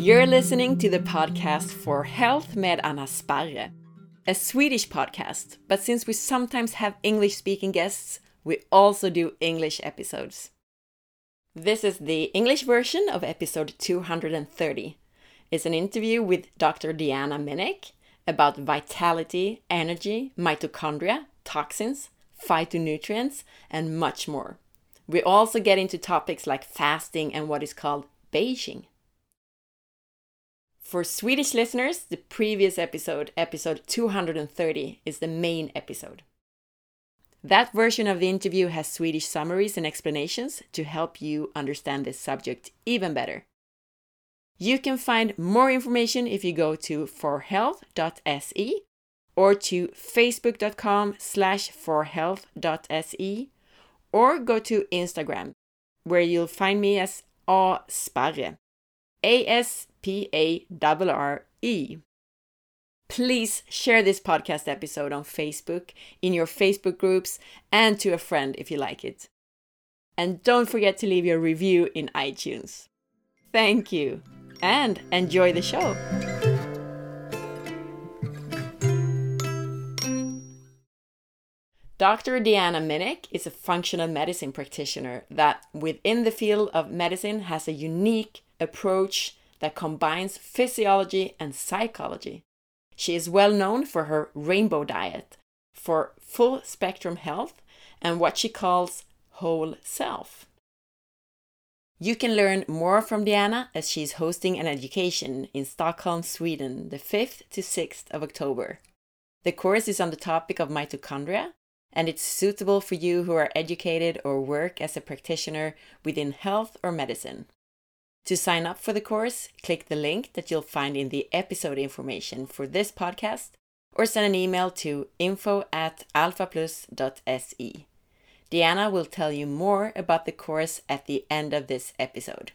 You're listening to the podcast For Health med Anna Sparre, a Swedish podcast, but since we sometimes have English-speaking guests, we also do English episodes. This is the English version of episode 230. It's an interview with Dr. Deanna Minich about vitality, energy, mitochondria, toxins, phytonutrients, and much more. We also get into topics like fasting and what is called beiging. For Swedish listeners, the previous episode 230, is the main episode. That version of the interview has Swedish summaries and explanations to help you understand this subject even better. You can find more information if you go to forhealth.se or to facebook.com/forhealth.se or go to Instagram, where you'll find me as asparre, ASPARRE. Please share this podcast episode on Facebook, in your Facebook groups, and to a friend if you like it. And don't forget to leave your review in iTunes. Thank you, and enjoy the show. Dr. Deanna Minich is a functional medicine practitioner that, within the field of medicine, has a unique approach that combines physiology and psychology. She is well known for her rainbow diet, for full spectrum health, and what she calls whole self. You can learn more from Deanna as she is hosting an education in Stockholm, Sweden, the 5th to 6th of October. The course is on the topic of mitochondria, and it's suitable for you who are educated or work as a practitioner within health or medicine. To sign up for the course, click the link that you'll find in the episode information for this podcast or send an email to info@alphaplus.se. Deanna will tell you more about the course at the end of this episode.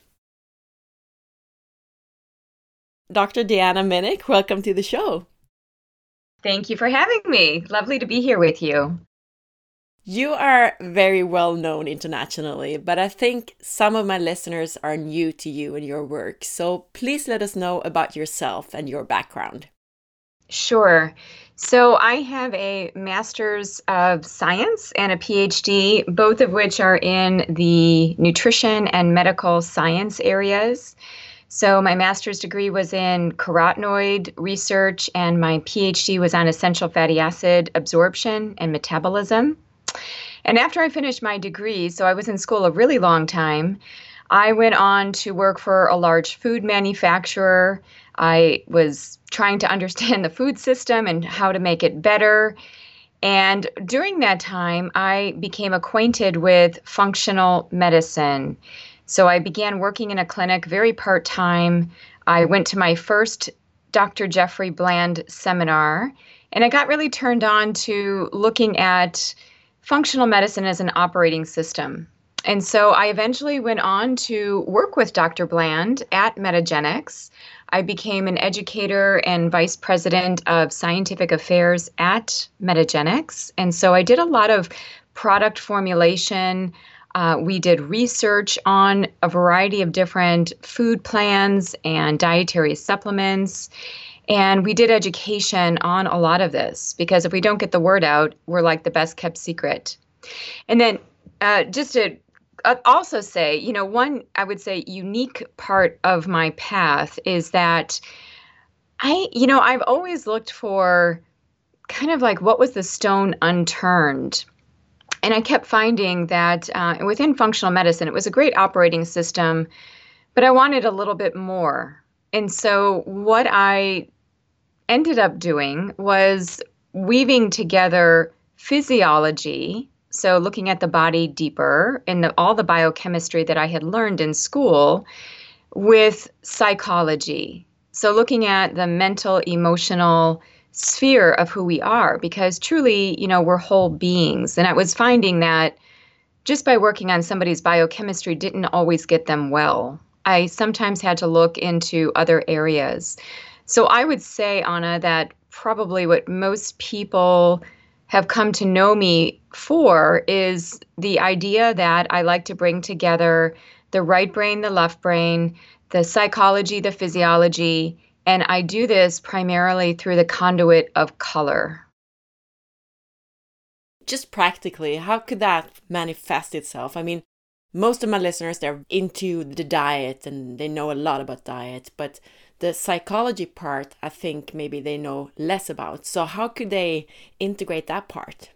Dr. Deanna Minich, welcome to the show. Thank you for having me. Lovely to be here with you. You are very well known internationally, but I think some of my listeners are new to you and your work. So please let us know about yourself and your background. Sure. So I have a Master's of Science and a PhD, both of which are in the nutrition and medical science areas. So my master's degree was in carotenoid research, and my PhD was on essential fatty acid absorption and metabolism. And after I finished my degree, so I was in school a really long time, I went on to work for a large food manufacturer. I was trying to understand the food system and how to make it better. And during that time, I became acquainted with functional medicine. So I began working in a clinic very part-time. I went to my first Dr. Jeffrey Bland seminar, and I got really turned on to looking at functional medicine as an operating system. And so I eventually went on to work with Dr. Bland at Metagenics. I became an educator and vice president of scientific affairs at Metagenics. And so I did a lot of product formulation. We did research on a variety of different food plans and dietary supplements. And we did education on a lot of this, because if we don't get the word out, we're like the best kept secret. And then just to also say, one, I would say, unique part of my path is that I've always looked for kind of like what was the stone unturned. And I kept finding that within functional medicine, it was a great operating system, but I wanted a little bit more. And so what I ended up doing was weaving together physiology, so looking at the body deeper and all the biochemistry that I had learned in school, with psychology. So looking at the mental, emotional sphere of who we are, because truly, we're whole beings. And I was finding that just by working on somebody's biochemistry didn't always get them well. I sometimes had to look into other areas. So I would say, Anna, that probably what most people have come to know me for is the idea that I like to bring together the right brain, the left brain, the psychology, the physiology, and I do this primarily through the conduit of color. Just practically, how could that manifest itself? I mean, most of my listeners, they're into the diet and they know a lot about diet, but the psychology part, I think maybe they know less about. So how could they integrate that part?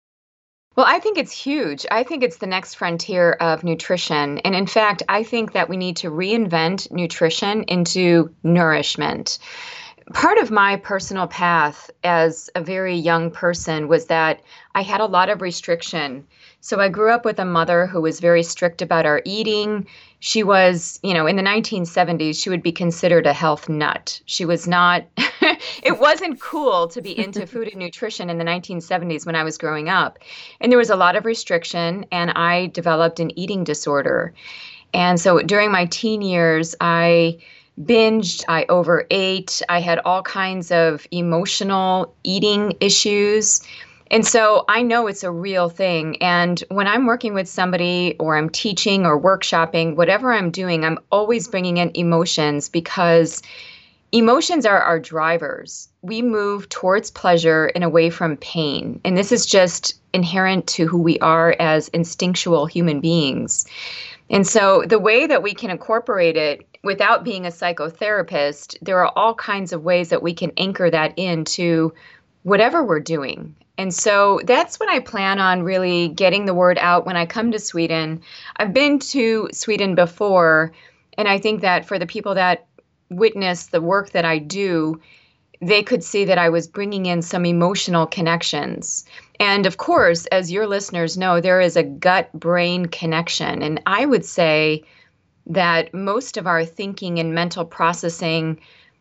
Well, I think it's huge. I think it's the next frontier of nutrition. And in fact, I think that we need to reinvent nutrition into nourishment. Part of my personal path as a very young person was that I had a lot of restriction. So I grew up with a mother who was very strict about our eating. She was, in the 1970s, she would be considered a health nut. She was not, it wasn't cool to be into food and nutrition in the 1970s when I was growing up. And there was a lot of restriction, and I developed an eating disorder. And so during my teen years, I binged, I overate, I had all kinds of emotional eating issues. And so I know it's a real thing. And when I'm working with somebody or I'm teaching or workshopping, whatever I'm doing, I'm always bringing in emotions because emotions are our drivers. We move towards pleasure and away from pain. And this is just inherent to who we are as instinctual human beings. And so the way that we can incorporate it without being a psychotherapist, there are all kinds of ways that we can anchor that into whatever we're doing. And so that's what I plan on really getting the word out when I come to Sweden. I've been to Sweden before, and I think that for the people that witness the work that I do, they could see that I was bringing in some emotional connections. And of course, as your listeners know, there is a gut-brain connection. And I would say that most of our thinking and mental processing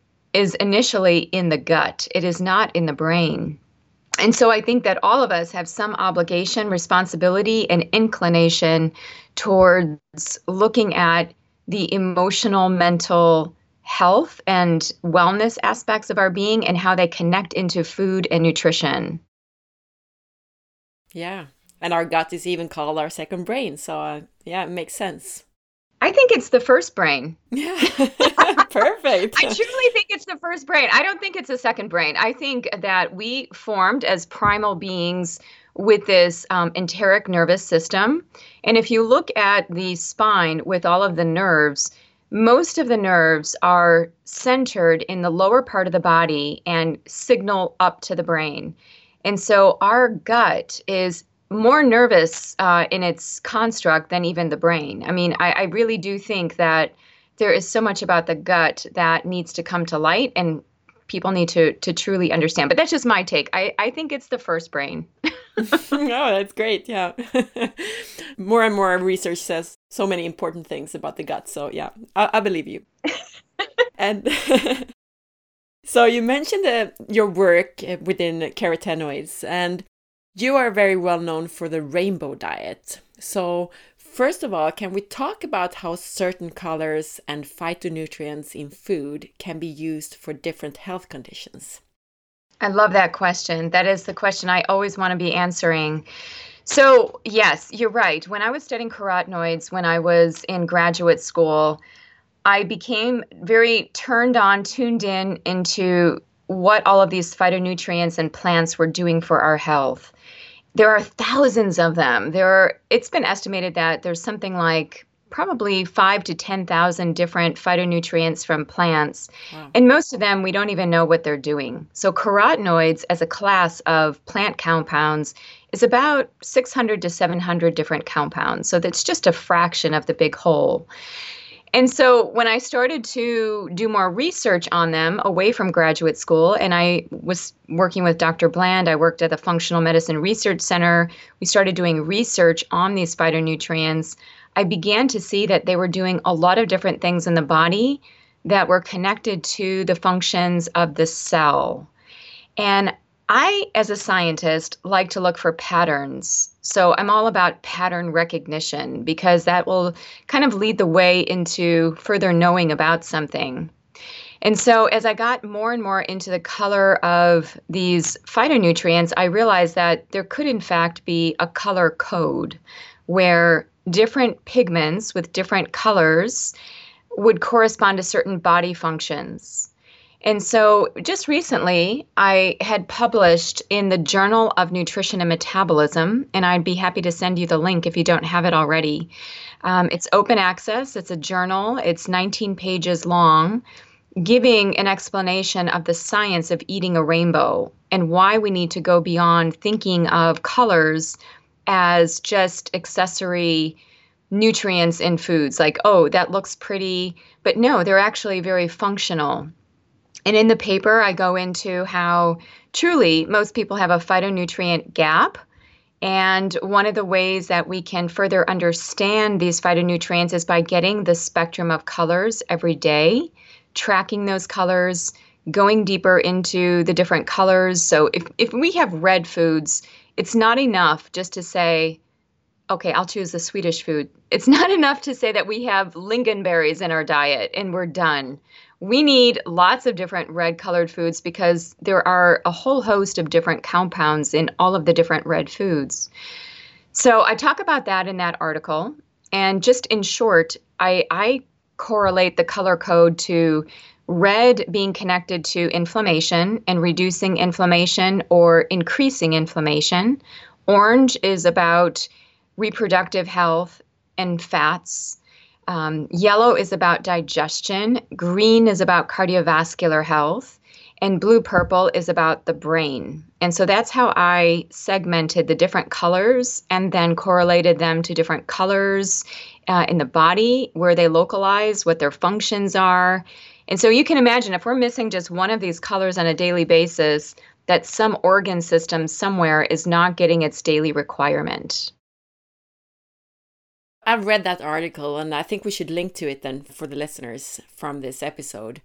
is initially in the gut. It is not in the brain. And so I think that all of us have some obligation, responsibility, and inclination towards looking at the emotional, mental health and wellness aspects of our being and how they connect into food and nutrition. Yeah. And our gut is even called our second brain. So, it makes sense. I think it's the first brain. Yeah, perfect. I truly think it's the first brain. I don't think it's a second brain. I think that we formed as primal beings with this enteric nervous system. And if you look at the spine with all of the nerves, most of the nerves are centered in the lower part of the body and signal up to the brain. And so our gut is more nervous in its construct than even the brain. I mean, I really do think that there is so much about the gut that needs to come to light and people need to truly understand. But that's just my take. I think it's the first brain. Oh, that's great. Yeah. More and more research says so many important things about the gut. So yeah, I believe you. And so you mentioned your work within carotenoids, and you are very well known for the rainbow diet. So first of all, can we talk about how certain colors and phytonutrients in food can be used for different health conditions? I love that question. That is the question I always want to be answering. So yes, you're right. When I was studying carotenoids, when I was in graduate school, I became very tuned in into what all of these phytonutrients and plants were doing for our health. There are thousands of them. It's been estimated that there's something like probably 5,000 to 10,000 different phytonutrients from plants. Wow. And most of them, we don't even know what they're doing. So carotenoids as a class of plant compounds is about 600 to 700 different compounds. So that's just a fraction of the big whole. And so when I started to do more research on them away from graduate school, and I was working with Dr. Bland, I worked at the Functional Medicine Research Center. We started doing research on these phytonutrients. I began to see that they were doing a lot of different things in the body that were connected to the functions of the cell. And I, as a scientist, like to look for patterns. So I'm all about pattern recognition because that will kind of lead the way into further knowing about something. And so as I got more and more into the color of these phytonutrients, I realized that there could in fact be a color code where different pigments with different colors would correspond to certain body functions. And so just recently, I had published in the Journal of Nutrition and Metabolism, and I'd be happy to send you the link if you don't have it already. It's open access, it's a journal, it's 19 pages long, giving an explanation of the science of eating a rainbow and why we need to go beyond thinking of colors as just accessory nutrients in foods, like, oh, that looks pretty, but no, they're actually very functional. And in the paper, I go into how truly most people have a phytonutrient gap. And one of the ways that we can further understand these phytonutrients is by getting the spectrum of colors every day, tracking those colors, going deeper into the different colors. So if we have red foods, it's not enough just to say, okay, I'll choose the Swedish food. It's not enough to say that we have lingonberries in our diet and we're done. We need lots of different red colored foods because there are a whole host of different compounds in all of the different red foods. So I talk about that in that article. And just in short, I correlate the color code to red being connected to inflammation and reducing inflammation or increasing inflammation. Orange is about reproductive health and fats. Yellow is about digestion. Green is about cardiovascular health. And blue-purple is about the brain. And so that's how I segmented the different colors and then correlated them to different colors in the body, where they localize, what their functions are. And so you can imagine if we're missing just one of these colors on a daily basis, that some organ system somewhere is not getting its daily requirement. I've read that article, and I think we should link to it then for the listeners from this episode.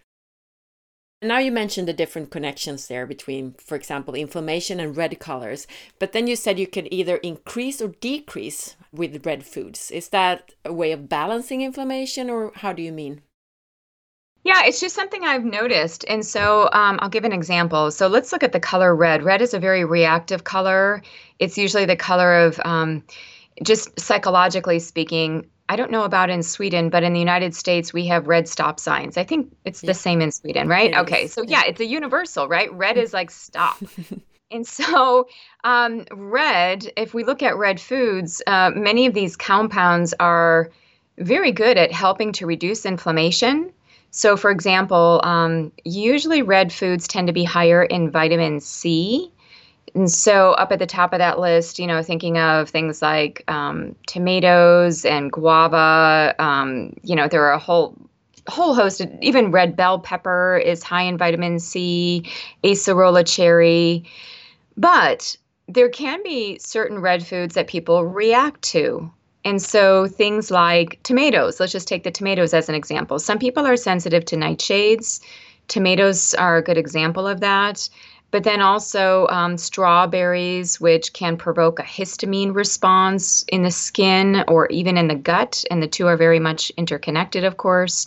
Now you mentioned the different connections there between, for example, inflammation and red colors, but then you said you could either increase or decrease with red foods. Is that a way of balancing inflammation, or how do you mean? Yeah, it's just something I've noticed. And so I'll give an example. So let's look at the color red. Red is a very reactive color. It's usually the color of, just psychologically speaking, I don't know about in Sweden, but in the United States, we have red stop signs. I think it's the same in Sweden, right? Okay, so yeah, it's a universal, right? Red is like stop. And so red, if we look at red foods, many of these compounds are very good at helping to reduce inflammation. So for example, usually red foods tend to be higher in vitamin C. And so up at the top of that list, thinking of things like tomatoes and guava, there are a whole host of, even red bell pepper is high in vitamin C, acerola cherry. But there can be certain red foods that people react to. And so things like tomatoes, let's just take the tomatoes as an example. Some people are sensitive to nightshades. Tomatoes are a good example of that. But then also strawberries, which can provoke a histamine response in the skin or even in the gut. And the two are very much interconnected, of course.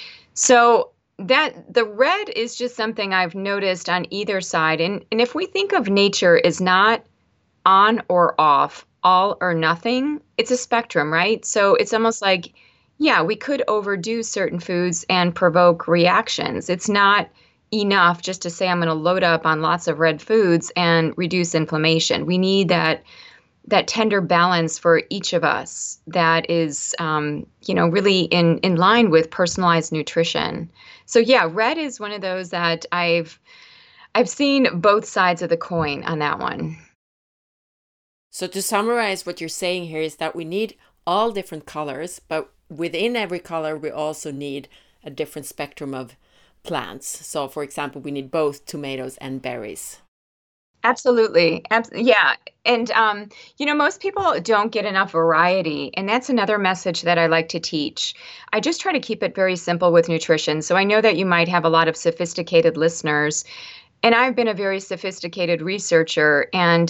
So that the red is just something I've noticed on either side. And if we think of nature as not on or off, all or nothing, it's a spectrum, right? So it's almost like, yeah, we could overdo certain foods and provoke reactions. It's not enough just to say I'm going to load up on lots of red foods and reduce inflammation. We need that tender balance for each of us that is, really in line with personalized nutrition. So yeah, red is one of those that I've seen both sides of the coin on that one. So to summarize, what you're saying here is that we need all different colors, but within every color, we also need a different spectrum of plants. So for example, we need both tomatoes and berries. Absolutely. Yeah. And, most people don't get enough variety. And that's another message that I like to teach. I just try to keep it very simple with nutrition. So I know that you might have a lot of sophisticated listeners, and I've been a very sophisticated researcher. And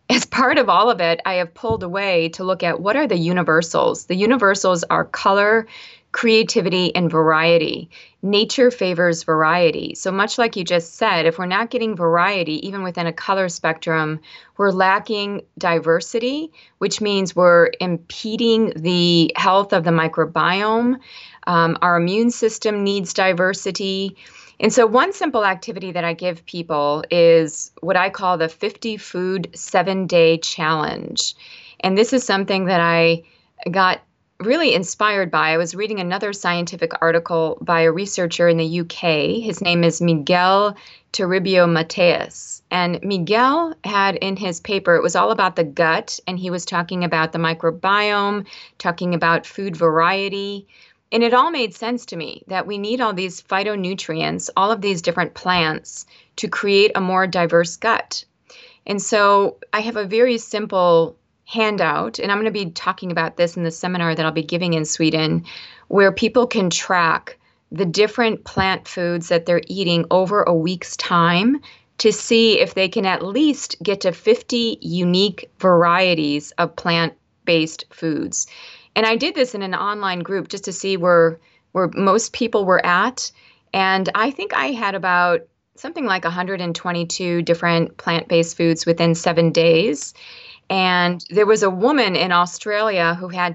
as part of all of it, I have pulled away to look at what are the universals. The universals are color, creativity, and variety. Nature favors variety. So much like you just said, if we're not getting variety, even within a color spectrum, we're lacking diversity, which means we're impeding the health of the microbiome. Our immune system needs diversity. And so one simple activity that I give people is what I call the 50 Food 7-Day Challenge. And this is something that I got really inspired by. I was reading another scientific article by a researcher in the UK. His name is Miguel Toribio Mateus. And Miguel had in his paper, it was all about the gut, and he was talking about the microbiome, talking about food variety. And it all made sense to me that we need all these phytonutrients, all of these different plants to create a more diverse gut. And so I have a very simple handout, and I'm going to be talking about this in the seminar that I'll be giving in Sweden, where people can track the different plant foods that they're eating over a week's time to see if they can at least get to 50 unique varieties of plant-based foods. And I did this in an online group just to see where most people were at. And I think I had about something like 122 different plant-based foods within 7 days. And there was a woman in Australia who had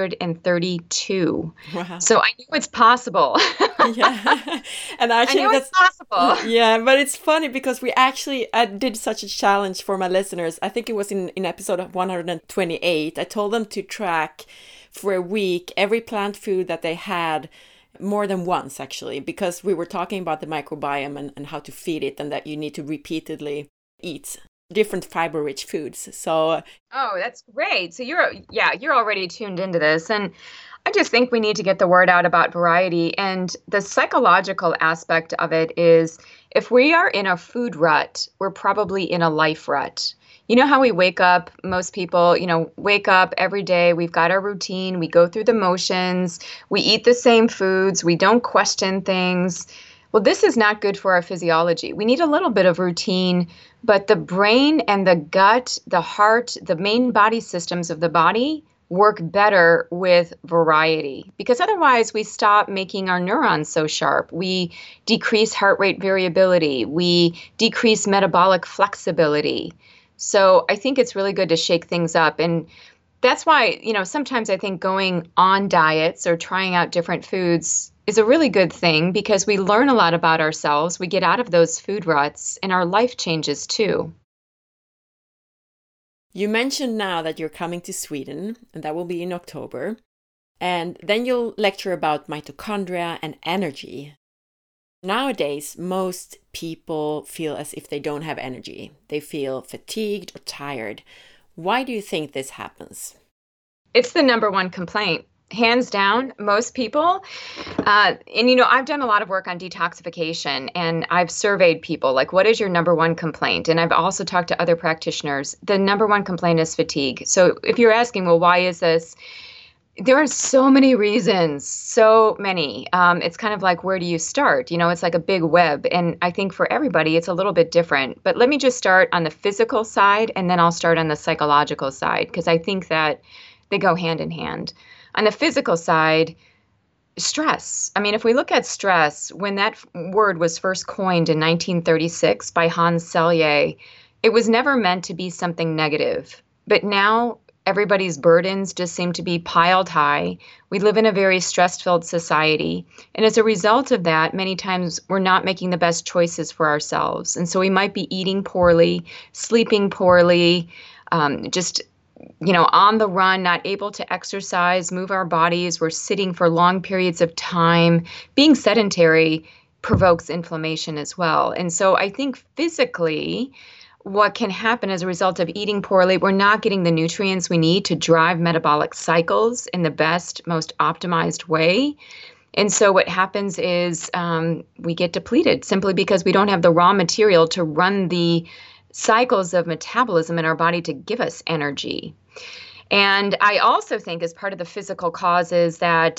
232. Wow. So I knew it's possible. Yeah. And actually, I knew it's possible. Yeah, but it's funny because I did such a challenge for my listeners. I think it was in episode 128. I told them to track for a week every plant food that they had more than once, actually, because we were talking about the microbiome and how to feed it, and that you need to repeatedly eat different fiber-rich foods. So that's great. So you're already tuned into this. And I just think we need to get the word out about variety. And the psychological aspect of it is if we are in a food rut, we're probably in a life rut. You know how we wake up, most people, wake up every day, we've got our routine, we go through the motions, we eat the same foods, we don't question things. Well, this is not good for our physiology. We need a little bit of routine, but the brain and the gut, the heart, the main body systems of the body work better with variety, because otherwise we stop making our neurons so sharp. We decrease heart rate variability. We decrease metabolic flexibility. So I think it's really good to shake things up. And that's why, sometimes I think going on diets or trying out different foods is a really good thing, because we learn a lot about ourselves. We get out of those food ruts and our life changes too. You mentioned now that you're coming to Sweden, and that will be in October. And then you'll lecture about mitochondria and energy. Nowadays, most people feel as if they don't have energy. They feel fatigued or tired. Why do you think this happens? It's the number one complaint. Hands down, most people. I've done a lot of work on detoxification, and I've surveyed people, like, what is your number one complaint? And I've also talked to other practitioners. The number one complaint is fatigue. So if you're asking, well, why is this? There are so many reasons, so many. It's kind of like, where do you start? It's like a big web. And I think for everybody, it's a little bit different. But let me just start on the physical side, and then I'll start on the psychological side, because I think that they go hand in hand. On the physical side, stress. I mean, if we look at stress, when that word was first coined in 1936 by Hans Selye, it was never meant to be something negative. But now everybody's burdens just seem to be piled high. We live in a very stress-filled society. And as a result of that, many times we're not making the best choices for ourselves. And so we might be eating poorly, sleeping poorly, on the run, not able to exercise, move our bodies. We're sitting for long periods of time. Being sedentary provokes inflammation as well. And so I think physically, what can happen as a result of eating poorly, we're not getting the nutrients we need to drive metabolic cycles in the best, most optimized way. And so what happens is we get depleted simply because we don't have the raw material to run the cycles of metabolism in our body to give us energy. And I also think as part of the physical causes that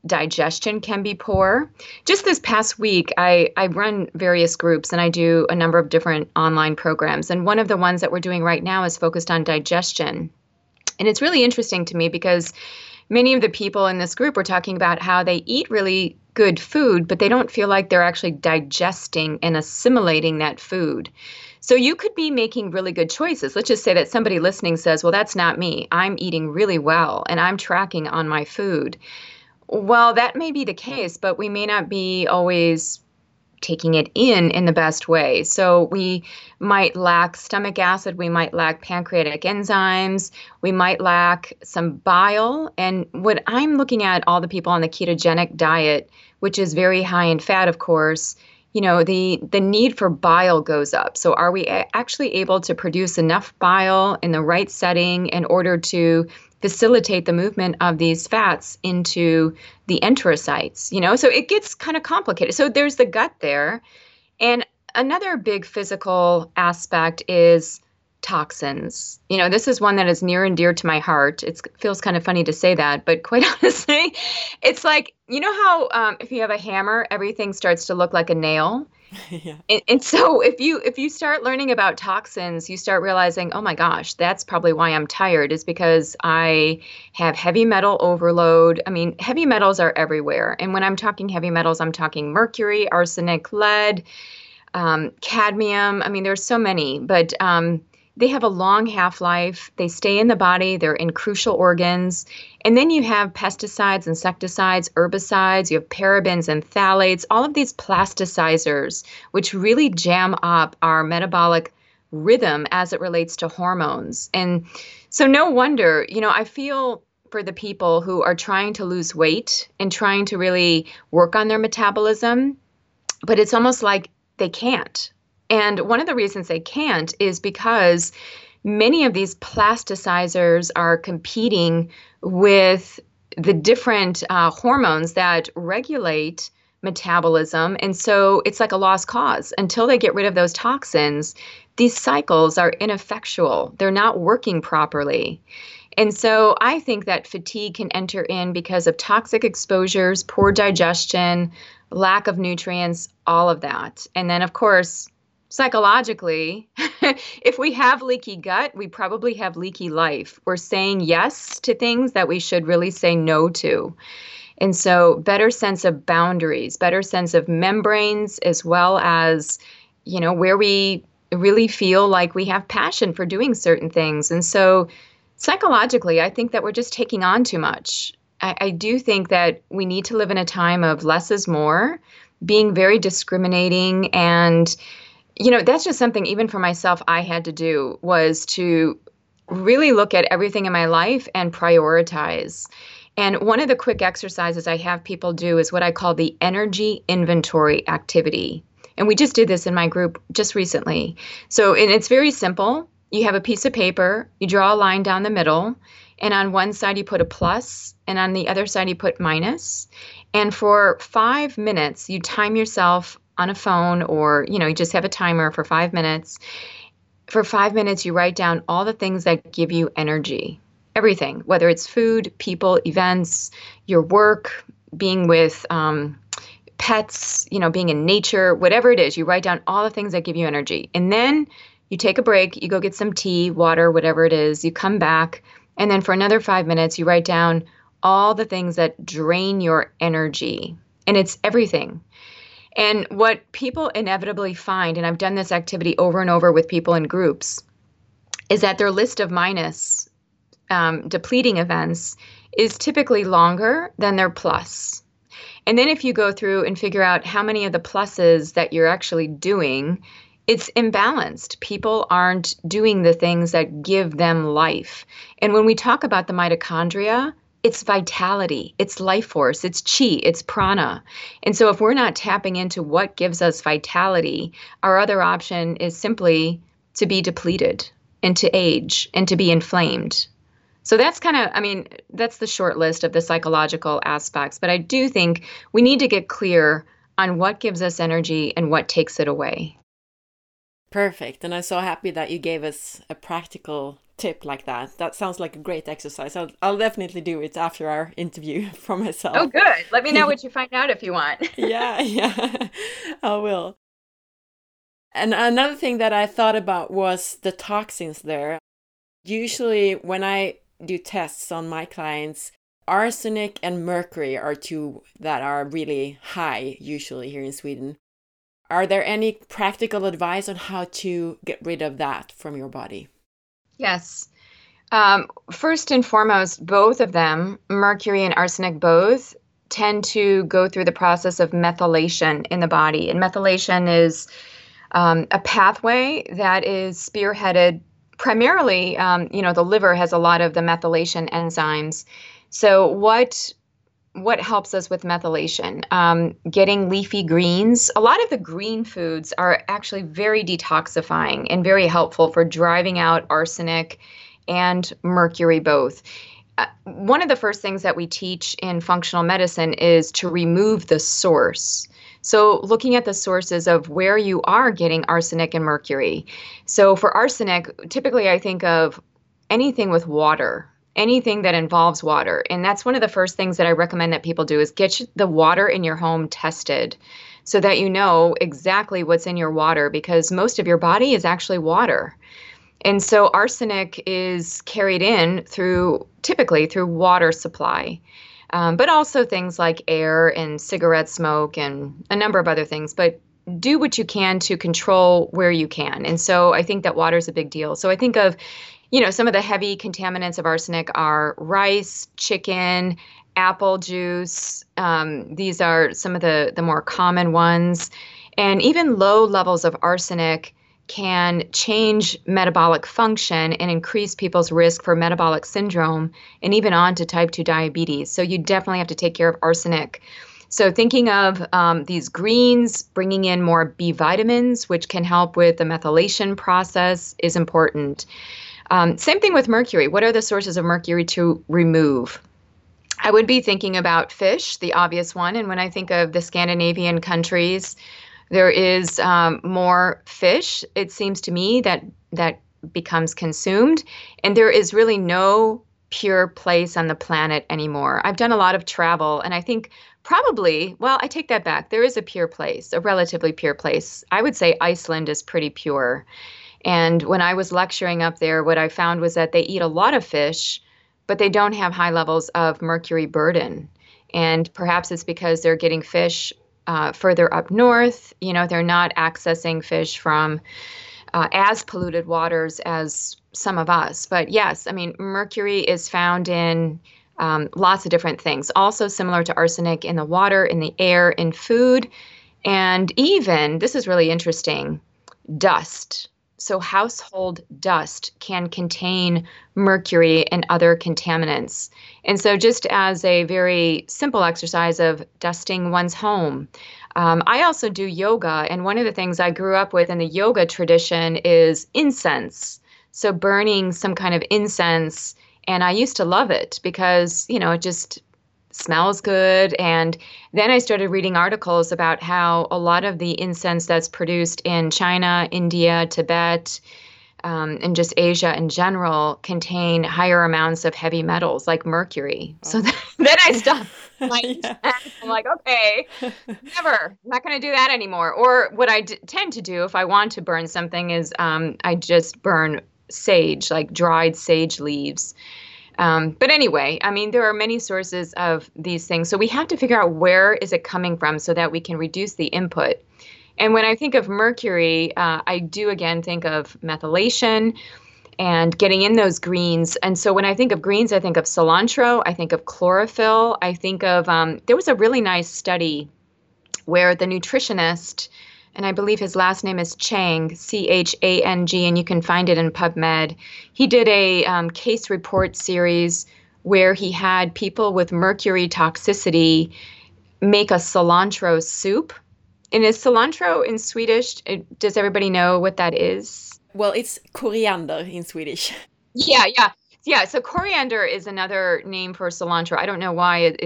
digestion can be poor. Just this past week, I run various groups and I do a number of different online programs. And one of the ones that we're doing right now is focused on digestion. And it's really interesting to me because many of the people in this group were talking about how they eat really good food, but they don't feel like they're actually digesting and assimilating that food. So you could be making really good choices. Let's just say that somebody listening says, well, that's not me. I'm eating really well and I'm tracking on my food. Well, that may be the case, but we may not be always taking it in the best way. So we might lack stomach acid, we might lack pancreatic enzymes, we might lack some bile. And what I'm looking at all the people on the ketogenic diet, which is very high in fat, of course, the need for bile goes up. So are we actually able to produce enough bile in the right setting in order to facilitate the movement of these fats into the enterocytes? So it gets kind of complicated. So there's the gut there. And another big physical aspect is toxins. This is one that is near and dear to my heart. It feels kind of funny to say that, but quite honestly, it's like, how if you have a hammer, everything starts to look like a nail. Yeah. And so if you start learning about toxins, you start realizing, oh my gosh, that's probably why I'm tired, is because I have heavy metal overload. I mean, heavy metals are everywhere. And when I'm talking heavy metals, I'm talking mercury, arsenic, lead, cadmium. I mean, there's so many, but they have a long half-life. They stay in the body. They're in crucial organs. And then you have pesticides, insecticides, herbicides. You have parabens and phthalates, all of these plasticizers, which really jam up our metabolic rhythm as it relates to hormones. And so no wonder, I feel for the people who are trying to lose weight and trying to really work on their metabolism, but it's almost like they can't. And one of the reasons they can't is because many of these plasticizers are competing with the different hormones that regulate metabolism. And so it's like a lost cause. Until they get rid of those toxins, these cycles are ineffectual. They're not working properly. And so I think that fatigue can enter in because of toxic exposures, poor digestion, lack of nutrients, all of that. And then, of course, psychologically, if we have leaky gut, we probably have leaky life. We're saying yes to things that we should really say no to. And so better sense of boundaries, better sense of membranes, as well as, where we really feel like we have passion for doing certain things. And so psychologically, I think that we're just taking on too much. I do think that we need to live in a time of less is more, being very discriminating. And that's just something, even for myself, I had to do, was to really look at everything in my life and prioritize. And one of the quick exercises I have people do is what I call the energy inventory activity. And we just did this in my group just recently. So, and it's very simple. You have a piece of paper, you draw a line down the middle, and on one side you put a plus, and on the other side you put minus. And for 5 minutes, you time yourself on a phone, or, you just have a timer for 5 minutes. For 5 minutes, you write down all the things that give you energy, everything, whether it's food, people, events, your work, being with pets, being in nature, whatever it is, you write down all the things that give you energy. And then you take a break, you go get some tea, water, whatever it is, you come back. And then for another 5 minutes, you write down all the things that drain your energy. And it's everything. And what people inevitably find, and I've done this activity over and over with people in groups, is that their list of minus depleting events is typically longer than their plus. And then if you go through and figure out how many of the pluses that you're actually doing, it's imbalanced. People aren't doing the things that give them life. And when we talk about the mitochondria, it's vitality, it's life force, it's chi, it's prana. And so if we're not tapping into what gives us vitality, our other option is simply to be depleted and to age and to be inflamed. So that's that's the short list of the psychological aspects. But I do think we need to get clear on what gives us energy and what takes it away. Perfect. And I'm so happy that you gave us a practical tip like that. That sounds like a great exercise. I'll definitely do it after our interview for Oh, myself. good. Let me know what you find out if you want. Yeah, yeah, I will. And another thing that I thought about was the toxins there. Usually, when I do tests on my clients, arsenic and mercury are two that are really high, usually here in Sweden. Are there any practical advice on how to get rid of that from your body? Yes. First and foremost, both of them, mercury and arsenic both, tend to go through the process of methylation in the body. And methylation is a pathway that is spearheaded primarily, the liver has a lot of the methylation enzymes. So what helps us with methylation? Getting leafy greens. A lot of the green foods are actually very detoxifying and very helpful for driving out arsenic and mercury both. One of the first things that we teach in functional medicine is to remove the source. So looking at the sources of where you are getting arsenic and mercury. So for arsenic, typically I think of anything with water, anything that involves water. And that's one of the first things that I recommend that people do is get the water in your home tested so that you know exactly what's in your water, because most of your body is actually water. And so arsenic is carried in typically through water supply, but also things like air and cigarette smoke and a number of other things. But do what you can to control where you can. And so I think that water is a big deal. So I think of, some of the heavy contaminants of arsenic are rice, chicken, apple juice. These are some of the more common ones. And even low levels of arsenic can change metabolic function and increase people's risk for metabolic syndrome and even on to type 2 diabetes. So you definitely have to take care of arsenic. So thinking of these greens, bringing in more B vitamins, which can help with the methylation process, is important. Same thing with mercury. What are the sources of mercury to remove? I would be thinking about fish, the obvious one. And when I think of the Scandinavian countries, there is more fish, it seems to me, that becomes consumed. And there is really no pure place on the planet anymore. I've done a lot of travel, and I think I take that back. There is a pure place, a relatively pure place. I would say Iceland is pretty pure. And when I was lecturing up there, what I found was that they eat a lot of fish, but they don't have high levels of mercury burden. And perhaps it's because they're getting fish further up north. They're not accessing fish from as polluted waters as some of us. But yes, I mean, mercury is found in lots of different things. Also similar to arsenic in the water, in the air, in food, and even, this is really interesting, dust. So household dust can contain mercury and other contaminants. And so just as a very simple exercise of dusting one's home, I also do yoga. And one of the things I grew up with in the yoga tradition is incense. So burning some kind of incense. And I used to love it because, it just smells good. And then I started reading articles about how a lot of the incense that's produced in China, India, Tibet, and just Asia in general contain higher amounts of heavy metals like mercury. Oh. So then I stopped. Yeah. I'm like, okay, never. I'm not going to do that anymore. Or what I tend to do if I want to burn something is I just burn sage, like dried sage leaves. But anyway, I mean, there are many sources of these things. So we have to figure out where is it coming from so that we can reduce the input. And when I think of mercury, I do again think of methylation and getting in those greens. And so when I think of greens, I think of cilantro, I think of chlorophyll, I think of, there was a really nice study where the nutritionist, and I believe his last name is Chang, Chang, and you can find it in PubMed. He did a case report series where he had people with mercury toxicity make a cilantro soup. And is cilantro in Swedish? Does everybody know what that is? Well, it's coriander in Swedish. Yeah. So coriander is another name for cilantro. I don't know why it's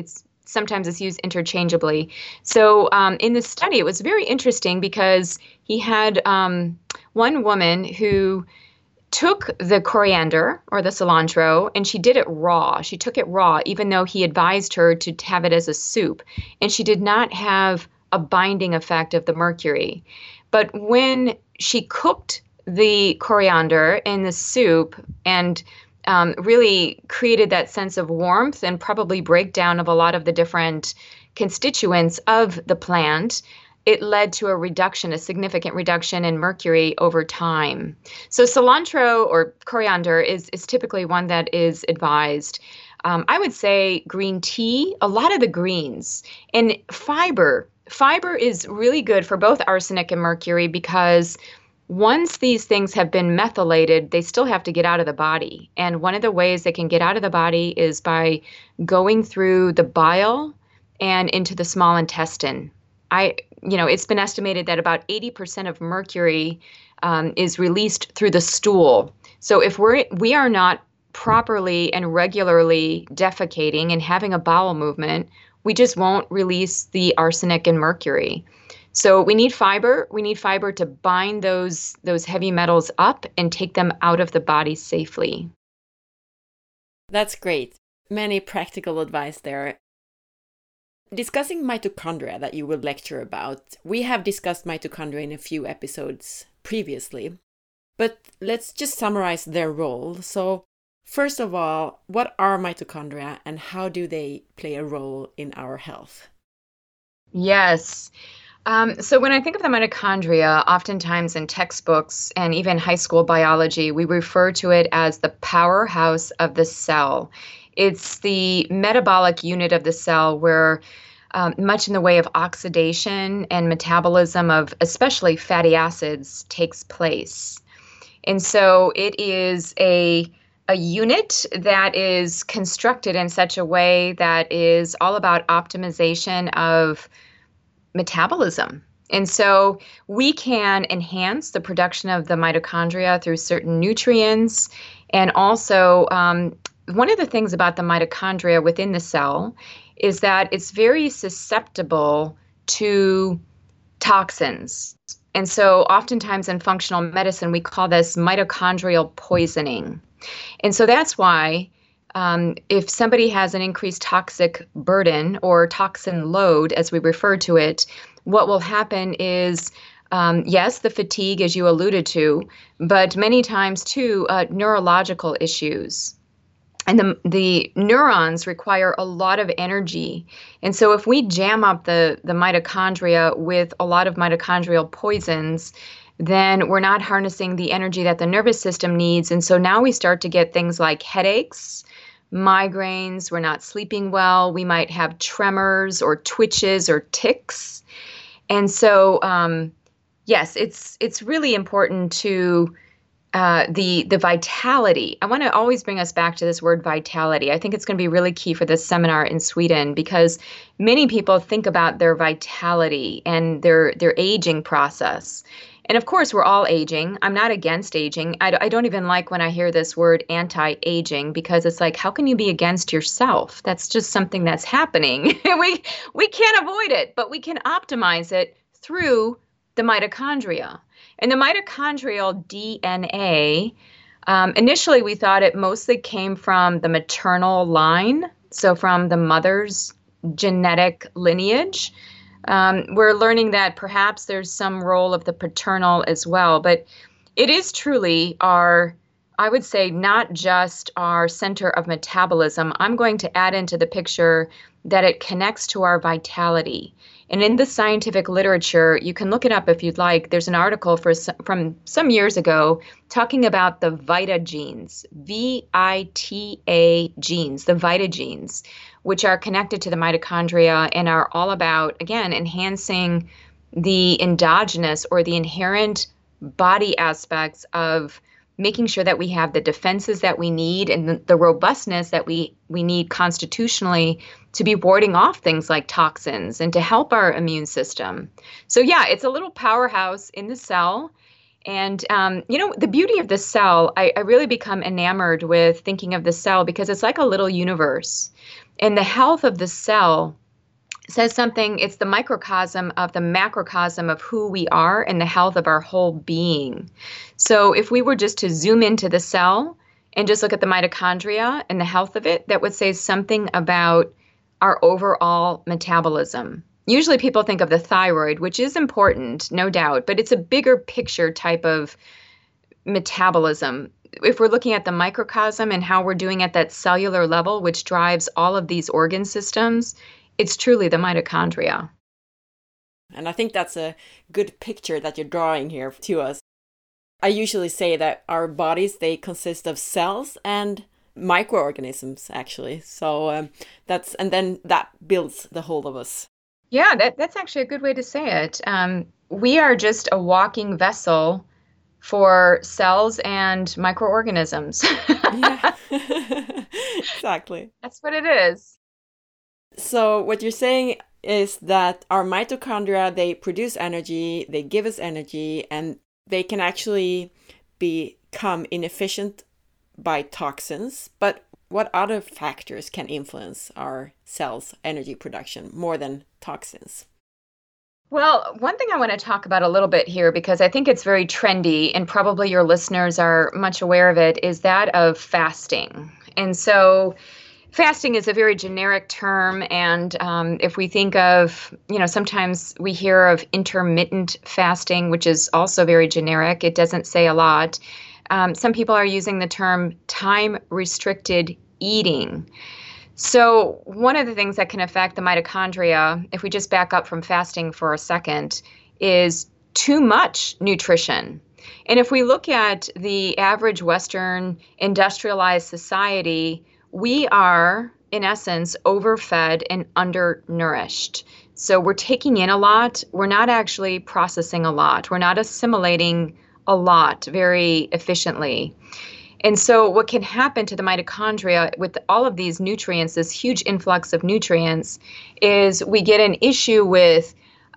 sometimes it's used interchangeably. So in this study, it was very interesting because he had one woman who took the coriander or the cilantro and she did it raw. She took it raw, even though he advised her to have it as a soup. And she did not have a binding effect of the mercury. But when she cooked the coriander in the soup and really created that sense of warmth and probably breakdown of a lot of the different constituents of the plant, it led to a significant reduction in mercury over time. So cilantro or coriander is typically one that is advised. I would say green tea, a lot of the greens, and fiber. Fiber is really good for both arsenic and mercury because once these things have been methylated, they still have to get out of the body. And one of the ways they can get out of the body is by going through the bile and into the small intestine. It's been estimated that about 80% of mercury is released through the stool. So if we are not properly and regularly defecating and having a bowel movement, we just won't release the arsenic and mercury. So we need fiber. We need fiber to bind those heavy metals up and take them out of the body safely. That's great. Many practical advice there. Discussing mitochondria that you will lecture about, we have discussed mitochondria in a few episodes previously, but let's just summarize their role. So first of all, what are mitochondria and how do they play a role in our health? Yes. So when I think of the mitochondria, oftentimes in textbooks and even high school biology, we refer to it as the powerhouse of the cell. It's the metabolic unit of the cell where much in the way of oxidation and metabolism of especially fatty acids takes place. And so it is a unit that is constructed in such a way that is all about optimization of metabolism. And so we can enhance the production of the mitochondria through certain nutrients. And also, one of the things about the mitochondria within the cell is that it's very susceptible to toxins. And so oftentimes in functional medicine, we call this mitochondrial poisoning. And so that's why if somebody has an increased toxic burden or toxin load, as we refer to it, what will happen is, yes, the fatigue, as you alluded to, but many times too, neurological issues. And the neurons require a lot of energy. And so if we jam up the mitochondria with a lot of mitochondrial poisons, then we're not harnessing the energy that the nervous system needs. And so now we start to get things like headaches, migraines, we're not sleeping well, we might have tremors or twitches or tics. And so, yes, it's really important to the vitality. I want to always bring us back to this word vitality. I think it's going to be really key for this seminar in Sweden because many people think about their vitality and their aging process. And of course, we're all aging. I'm not against aging. I don't even like when I hear this word anti-aging because it's like, how can you be against yourself? That's just something that's happening. We can't avoid it, but we can optimize it through the mitochondria. And the mitochondrial DNA, initially we thought it mostly came from the maternal line, so from the mother's genetic lineage. We're learning that perhaps there's some role of the paternal as well, but it is truly I would say, not just our center of metabolism. I'm going to add into the picture that it connects to our vitality. And in the scientific literature, you can look it up if you'd like. There's an article from some years ago talking about the Vita genes, VITA genes, the Vita genes, which are connected to the mitochondria and are all about, again, enhancing the endogenous or the inherent body aspects of making sure that we have the defenses that we need and the robustness that we need constitutionally to be warding off things like toxins and to help our immune system. So yeah, it's a little powerhouse in the cell. And, the beauty of the cell, I really become enamored with thinking of the cell because it's like a little universe. And the health of the cell says something, it's the microcosm of the macrocosm of who we are and the health of our whole being. So if we were just to zoom into the cell and just look at the mitochondria and the health of it, that would say something about our overall metabolism. Usually people think of the thyroid, which is important, no doubt, but it's a bigger picture type of metabolism. If we're looking at the microcosm and how we're doing at that cellular level, which drives all of these organ systems, it's truly the mitochondria. And I think that's a good picture that you're drawing here to us. I usually say that our bodies, they consist of cells and microorganisms, actually. So then that builds the whole of us. Yeah, that's actually a good way to say it. We are just a walking vessel for cells and microorganisms. Yeah, exactly. That's what it is. So what you're saying is that our mitochondria, they produce energy, they give us energy, and they can actually become inefficient by toxins. But what other factors can influence our cells' energy production more than toxins? Well, one thing I want to talk about a little bit here, because I think it's very trendy and probably your listeners are much aware of it, is that of fasting. And so fasting is a very generic term. And if we think of, sometimes we hear of intermittent fasting, which is also very generic. It doesn't say a lot. Some people are using the term time-restricted eating. So one of the things that can affect the mitochondria, if we just back up from fasting for a second, is too much nutrition. And if we look at the average Western industrialized society, we are, in essence, overfed and undernourished. So we're taking in a lot. We're not actually processing a lot. We're not assimilating a lot very efficiently. And so what can happen to the mitochondria with all of these nutrients, this huge influx of nutrients, is we get an issue with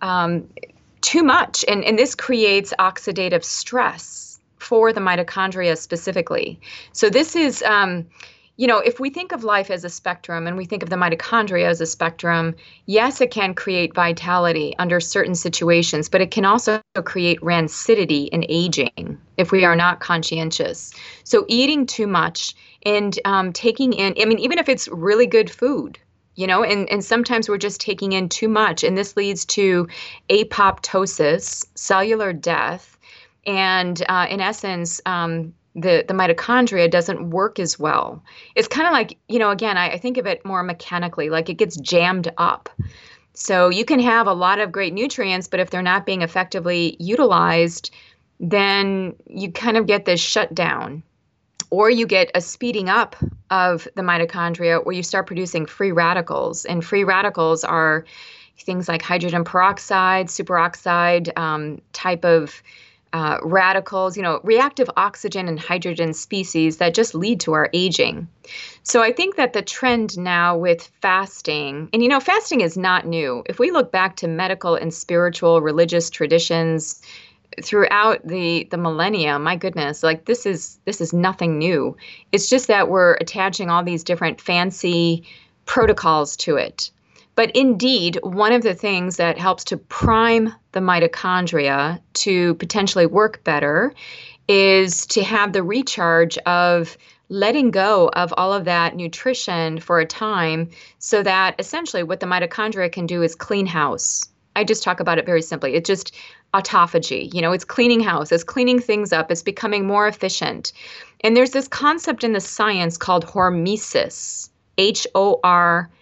too much. And this creates oxidative stress for the mitochondria specifically. So this is, if we think of life as a spectrum and we think of the mitochondria as a spectrum, yes, it can create vitality under certain situations, but it can also create rancidity and aging if we are not conscientious. So eating too much and taking in, even if it's really good food, and sometimes we're just taking in too much, and this leads to apoptosis, cellular death, and in essence, the mitochondria doesn't work as well. It's kind of like, again, I think of it more mechanically, like it gets jammed up. So you can have a lot of great nutrients, but if they're not being effectively utilized, then you kind of get this shutdown. Or you get a speeding up of the mitochondria where you start producing free radicals. And free radicals are things like hydrogen peroxide, superoxide type of radicals, reactive oxygen and hydrogen species that just lead to our aging. So I think that the trend now with fasting, and fasting is not new. If we look back to medical and spiritual religious traditions throughout the millennia, my goodness, like this is nothing new. It's just that we're attaching all these different fancy protocols to it. But indeed, one of the things that helps to prime the mitochondria to potentially work better is to have the recharge of letting go of all of that nutrition for a time so that essentially what the mitochondria can do is clean house. I just talk about it very simply. It's just autophagy. It's cleaning house. It's cleaning things up. It's becoming more efficient. And there's this concept in the science called hormesis, HORMESIS,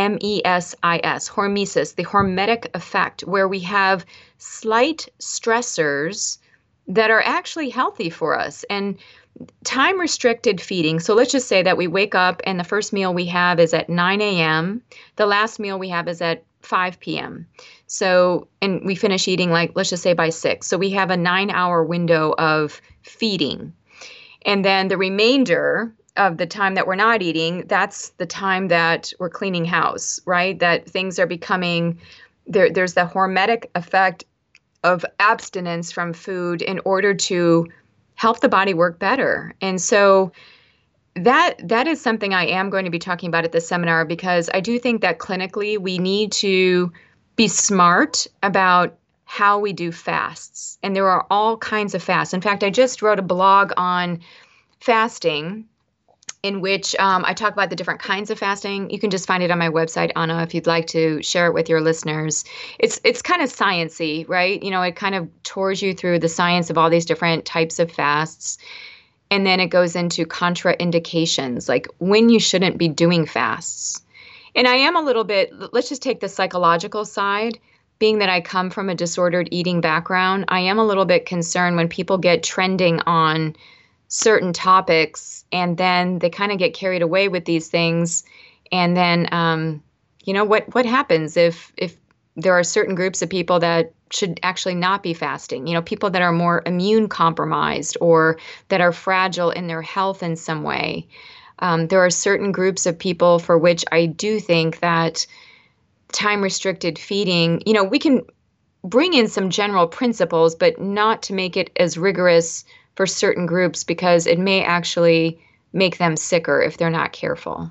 hormesis, the hormetic effect, where we have slight stressors that are actually healthy for us. And time-restricted feeding, so let's just say that we wake up and the first meal we have is at 9 a.m., the last meal we have is at 5 p.m. So, and we finish eating let's just say by 6. So we have a 9-hour window of feeding. And then the remainder of the time that we're not eating, that's the time that we're cleaning house, right? That things are becoming, there's the hormetic effect of abstinence from food in order to help the body work better. And so that is something I am going to be talking about at the seminar, because I do think that clinically we need to be smart about how we do fasts. And there are all kinds of fasts. In fact, I just wrote a blog on fasting in which I talk about the different kinds of fasting. You can just find it on my website, Anna, if you'd like to share it with your listeners. It's kind of sciencey, right? You know, it kind of tours you through the science of all these different types of fasts. And then it goes into contraindications, like when you shouldn't be doing fasts. And I am a little bit, let's just take the psychological side. Being that I come from a disordered eating background, I am a little bit concerned when people get trending on certain topics and then they kind of get carried away with these things. And then, what happens if there are certain groups of people that should actually not be fasting? You know, people that are more immune compromised or that are fragile in their health in some way. There are certain groups of people for which I do think that time-restricted feeding, you know, we can bring in some general principles, but not to make it as rigorous for certain groups, because it may actually make them sicker if they're not careful.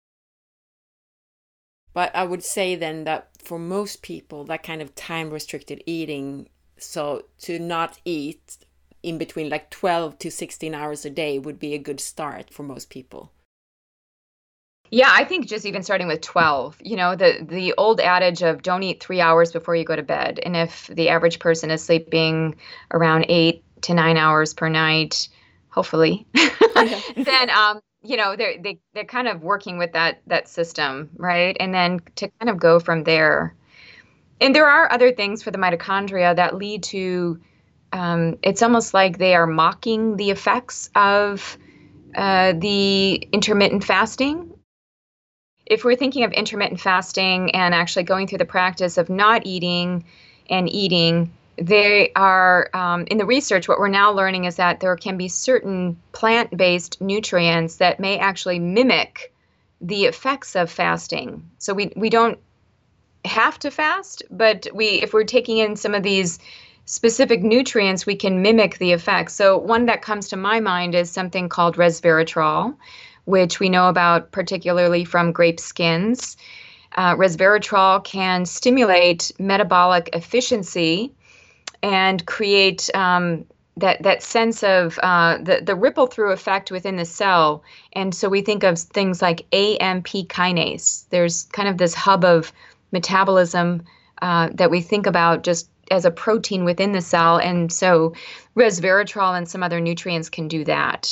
But I would say then that for most people, that kind of time-restricted eating, so to not eat in between like 12 to 16 hours a day would be a good start for most people. Yeah, I think just even starting with 12, you know, the old adage of don't eat 3 hours before you go to bed. And if the average person is sleeping around 8 to 9 hours per night, hopefully, then, they're kind of working with that system, right? And then to kind of go from there. And there are other things for the mitochondria that lead to, it's almost like they are mocking the effects of the intermittent fasting. If we're thinking of intermittent fasting and actually going through the practice of not eating and eating, they are, in the research, what we're now learning is that there can be certain plant-based nutrients that may actually mimic the effects of fasting. So we don't have to fast, but if we're taking in some of these specific nutrients, we can mimic the effects. So one that comes to my mind is something called resveratrol, which we know about particularly from grape skins. Resveratrol can stimulate metabolic efficiency and create that sense of the ripple through effect within the cell. And so we think of things like AMP kinase. There's kind of this hub of metabolism that we think about just as a protein within the cell. And so resveratrol and some other nutrients can do that.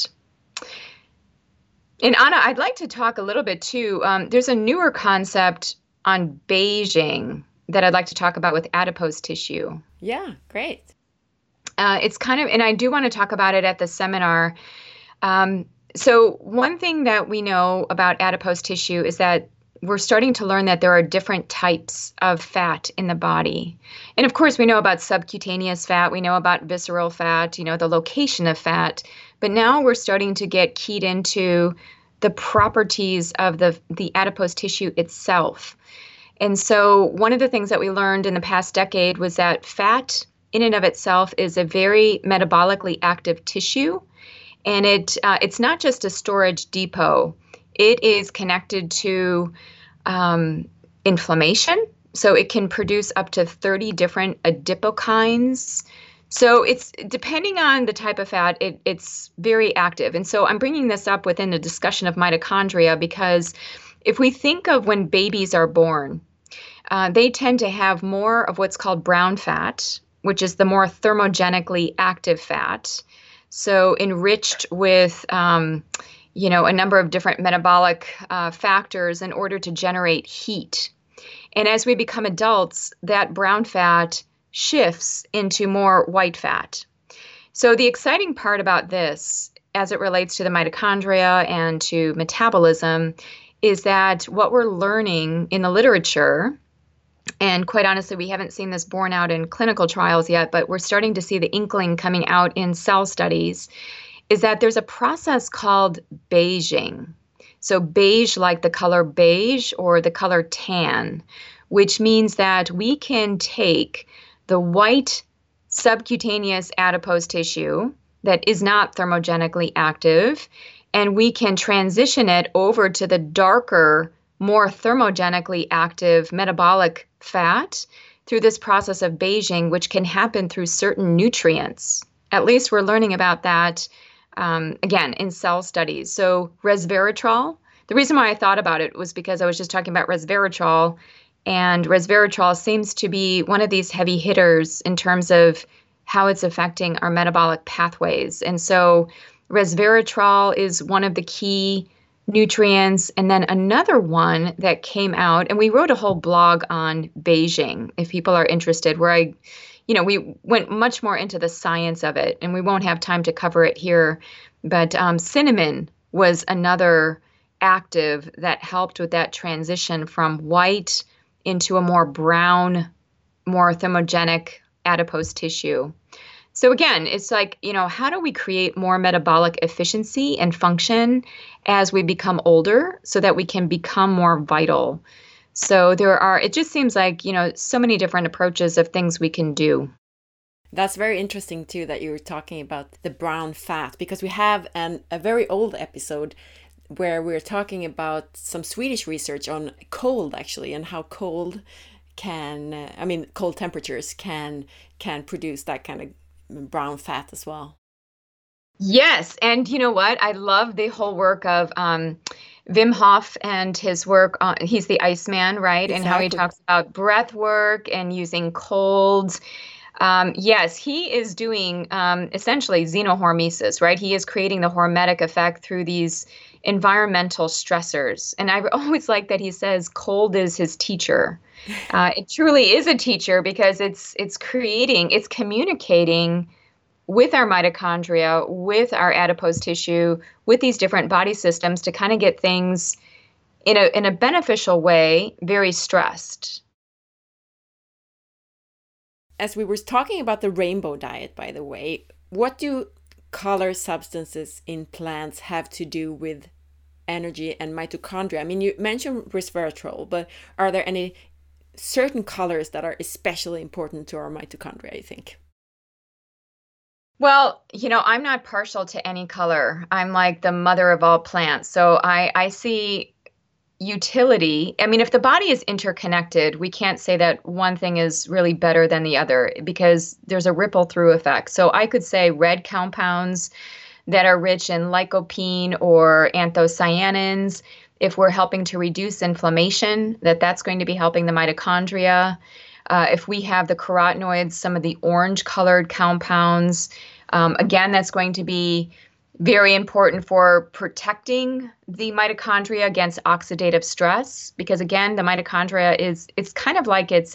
And Anna, I'd like to talk a little bit too. There's a newer concept on beiging that I'd like to talk about with adipose tissue. Yeah, great. It's kind of, and I do want to talk about it at the seminar. So one thing that we know about adipose tissue is that we're starting to learn that there are different types of fat in the body. And of course, we know about subcutaneous fat. We know about visceral fat, you know, the location of fat. But now we're starting to get keyed into the properties of the adipose tissue itself. And so one of the things that we learned in the past decade was that fat in and of itself is a very metabolically active tissue. And it's not just a storage depot. It is connected to inflammation. So it can produce up to 30 different adipokines. So it's depending on the type of fat, it's very active. And so I'm bringing this up within the discussion of mitochondria because if we think of when babies are born, they tend to have more of what's called brown fat, which is the more thermogenically active fat. So enriched with, a number of different metabolic factors in order to generate heat. And as we become adults, that brown fat shifts into more white fat. So the exciting part about this, as it relates to the mitochondria and to metabolism, is that what we're learning in the literature, and quite honestly, we haven't seen this borne out in clinical trials yet, but we're starting to see the inkling coming out in cell studies, is that there's a process called beiging. So beige like the color beige or the color tan, which means that we can take the white subcutaneous adipose tissue that is not thermogenically active, and we can transition it over to the darker, more thermogenically active metabolic fat through this process of beiging, which can happen through certain nutrients. At least we're learning about that, again, in cell studies. So resveratrol, the reason why I thought about it was because I was just talking about resveratrol, and resveratrol seems to be one of these heavy hitters in terms of how it's affecting our metabolic pathways. And so resveratrol is one of the key nutrients. And then another one that came out, and we wrote a whole blog on beiging, if people are interested, where we went much more into the science of it, and we won't have time to cover it here. But cinnamon was another active that helped with that transition from white into a more brown, more thermogenic adipose tissue. So again, it's like, how do we create more metabolic efficiency and function as we become older so that we can become more vital? So it just seems like, so many different approaches of things we can do. That's very interesting too, that you were talking about the brown fat, because we have a very old episode where we're talking about some Swedish research on cold, actually, and how cold cold temperatures can produce that kind of brown fat as well. Yes. And you know what? I love the whole work of Wim Hof and his work. He's the Iceman, right? Exactly. And how he talks about breath work and using cold. Yes, he is doing essentially xenohormesis, right? He is creating the hormetic effect through these environmental stressors. And I always like that he says cold is his teacher. It truly is a teacher, because it's communicating with our mitochondria, with our adipose tissue, with these different body systems to kind of get things in a beneficial way, very stressed. As we were talking about the rainbow diet, by the way, what do color substances in plants have to do with energy and mitochondria? I mean, you mentioned resveratrol, but are there any certain colors that are especially important to our mitochondria, I think? Well, I'm not partial to any color. I'm like the mother of all plants. So I see utility. I mean, if the body is interconnected, we can't say that one thing is really better than the other, because there's a ripple through effect. So I could say red compounds that are rich in lycopene or anthocyanins, if we're helping to reduce inflammation, that's going to be helping the mitochondria. If we have the carotenoids, some of the orange colored compounds, again, that's going to be very important for protecting the mitochondria against oxidative stress, because again, the mitochondria it's kind of like it's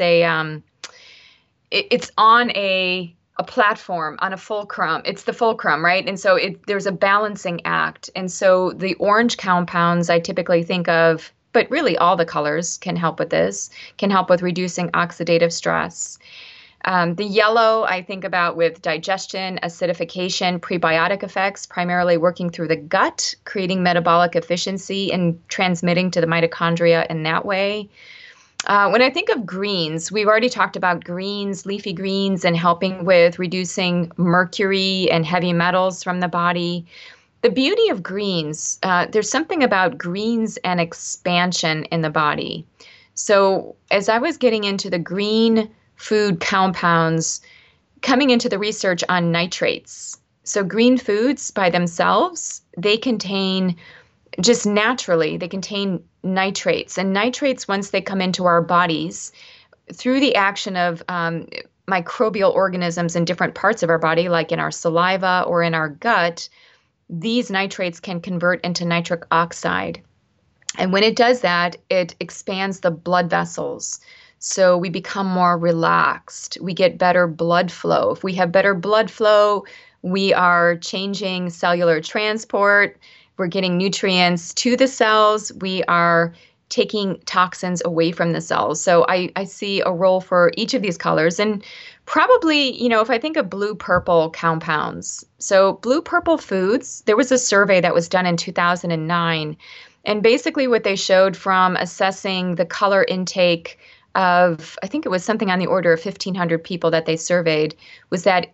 on a platform, on a fulcrum. It's the fulcrum, right? And so there's a balancing act. And so the orange compounds I typically think of, but really all the colors can help with this, can help with reducing oxidative stress. The yellow I think about with digestion, acidification, prebiotic effects, primarily working through the gut, creating metabolic efficiency and transmitting to the mitochondria in that way. When I think of greens, we've already talked about greens, leafy greens, and helping with reducing mercury and heavy metals from the body. The beauty of greens, there's something about greens and expansion in the body. So as I was getting into the green food compounds, coming into the research on nitrates. So green foods by themselves, they contain just naturally, they contain nitrates. And nitrates, once they come into our bodies, through the action of microbial organisms in different parts of our body, like in our saliva or in our gut, these nitrates can convert into nitric oxide. And when it does that, it expands the blood vessels. So we become more relaxed. We get better blood flow. If we have better blood flow, we are changing cellular transport. We're getting nutrients to the cells. We are taking toxins away from the cells. So I see a role for each of these colors. And probably, if I think of blue-purple compounds. So blue-purple foods, there was a survey that was done in 2009. And basically what they showed from assessing the color intake of, I think it was something on the order of 1,500 people that they surveyed, was that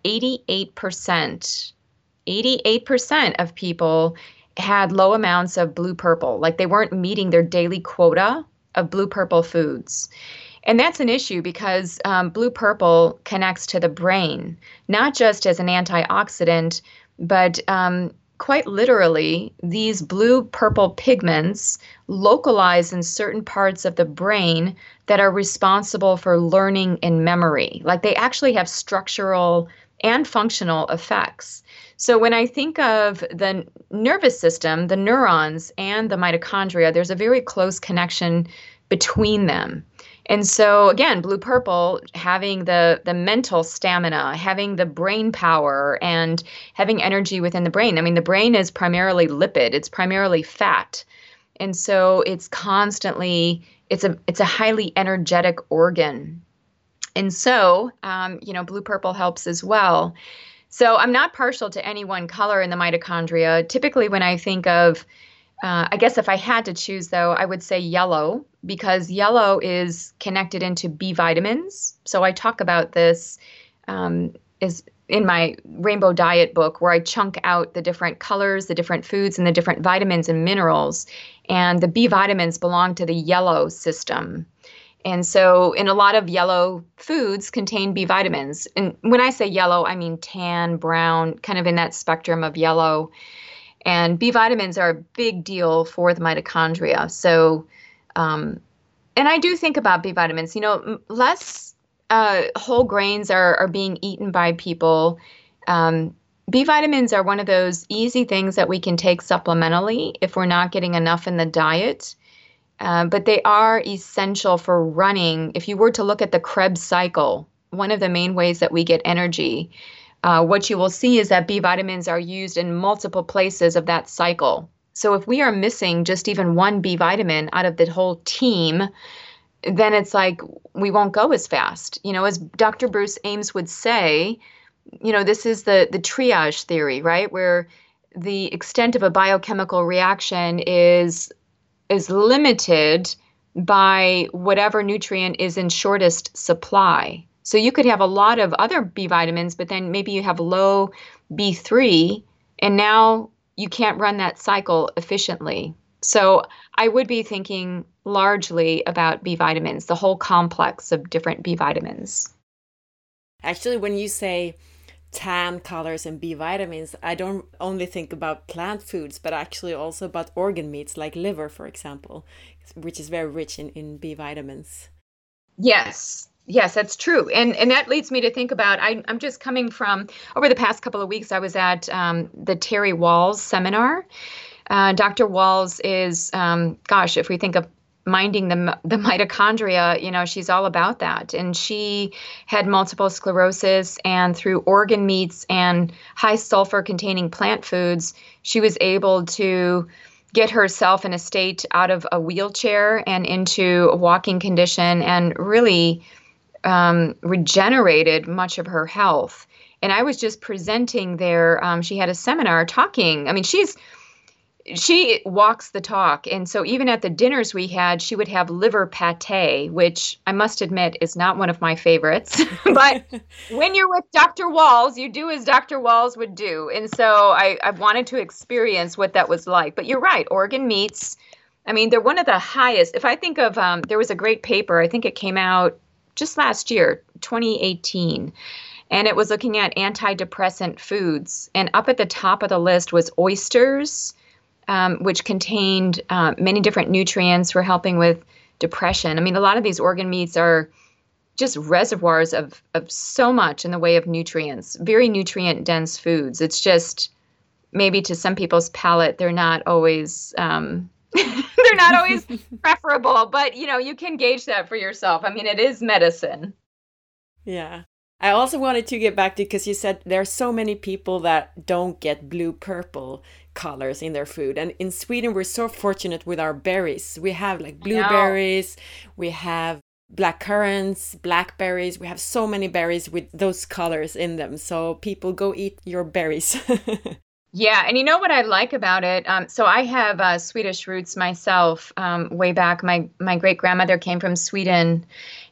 88% of people had low amounts of blue purple, like they weren't meeting their daily quota of blue purple foods. And that's an issue because blue purple connects to the brain, not just as an antioxidant, but quite literally, these blue purple pigments localize in certain parts of the brain that are responsible for learning and memory. Like they actually have structural and functional effects. So when I think of the nervous system, the neurons and the mitochondria, there's a very close connection between them. And so again, blue purple having the mental stamina, having the brain power and having energy within the brain. I mean, the brain is primarily lipid, it's primarily fat. And so it's constantly, it's a highly energetic organ. And so, blue purple helps as well. So I'm not partial to any one color in the mitochondria. Typically, when I think of, I guess if I had to choose, though, I would say yellow, because yellow is connected into B vitamins. So I talk about this is in my Rainbow Diet book, where I chunk out the different colors, the different foods, and the different vitamins and minerals. And the B vitamins belong to the yellow system. And so in a lot of yellow foods contain B vitamins. And when I say yellow, I mean tan, brown, kind of in that spectrum of yellow. And B vitamins are a big deal for the mitochondria. So, and I do think about B vitamins, less whole grains are being eaten by people. B vitamins are one of those easy things that we can take supplementally if we're not getting enough in the diet. But they are essential for running. If you were to look at the Krebs cycle, one of the main ways that we get energy, what you will see is that B vitamins are used in multiple places of that cycle. So if we are missing just even one B vitamin out of the whole team, then it's like we won't go as fast. As Dr. Bruce Ames would say, this is the triage theory, right? Where the extent of a biochemical reaction is limited by whatever nutrient is in shortest supply. So you could have a lot of other B vitamins, but then maybe you have low B3, and now you can't run that cycle efficiently. So I would be thinking largely about B vitamins, the whole complex of different B vitamins. Actually, when you say tan colors and B vitamins, I don't only think about plant foods, but actually also about organ meats like liver, for example, which is very rich in B vitamins. Yes, that's true. And that leads me to think about, I'm just coming from, over the past couple of weeks, I was at the Terry Wahls seminar. Dr. Wahls is, if we think of minding the mitochondria, she's all about that. And she had multiple sclerosis, and through organ meats and high sulfur containing plant foods, she was able to get herself in a state out of a wheelchair and into a walking condition, and really regenerated much of her health. And I was just presenting there. She had a seminar talking. I mean, she walks the talk. And so even at the dinners we had, she would have liver pate, which I must admit is not one of my favorites. But when you're with Dr. Wahls, you do as Dr. Wahls would do. And so I wanted to experience what that was like. But you're right, organ meats, I mean, they're one of the highest. If I think of, there was a great paper, I think it came out just last year, 2018. And it was looking at antidepressant foods. And up at the top of the list was oysters, which contained many different nutrients for helping with depression. I mean, a lot of these organ meats are just reservoirs of so much in the way of nutrients, very nutrient-dense foods. It's just, maybe to some people's palate, they're not always they're not always preferable, but you can gauge that for yourself. I mean, it is medicine. Yeah. I also wanted to get back to, because you said there are so many people that don't get blue-purple colors in their food. And in Sweden, we're so fortunate with our berries. We have like blueberries, we have black currants, blackberries. We have so many berries with those colors in them. So people, go eat your berries. Yeah. And you know what I like about it? So I have Swedish roots myself. Way back, my great grandmother came from Sweden.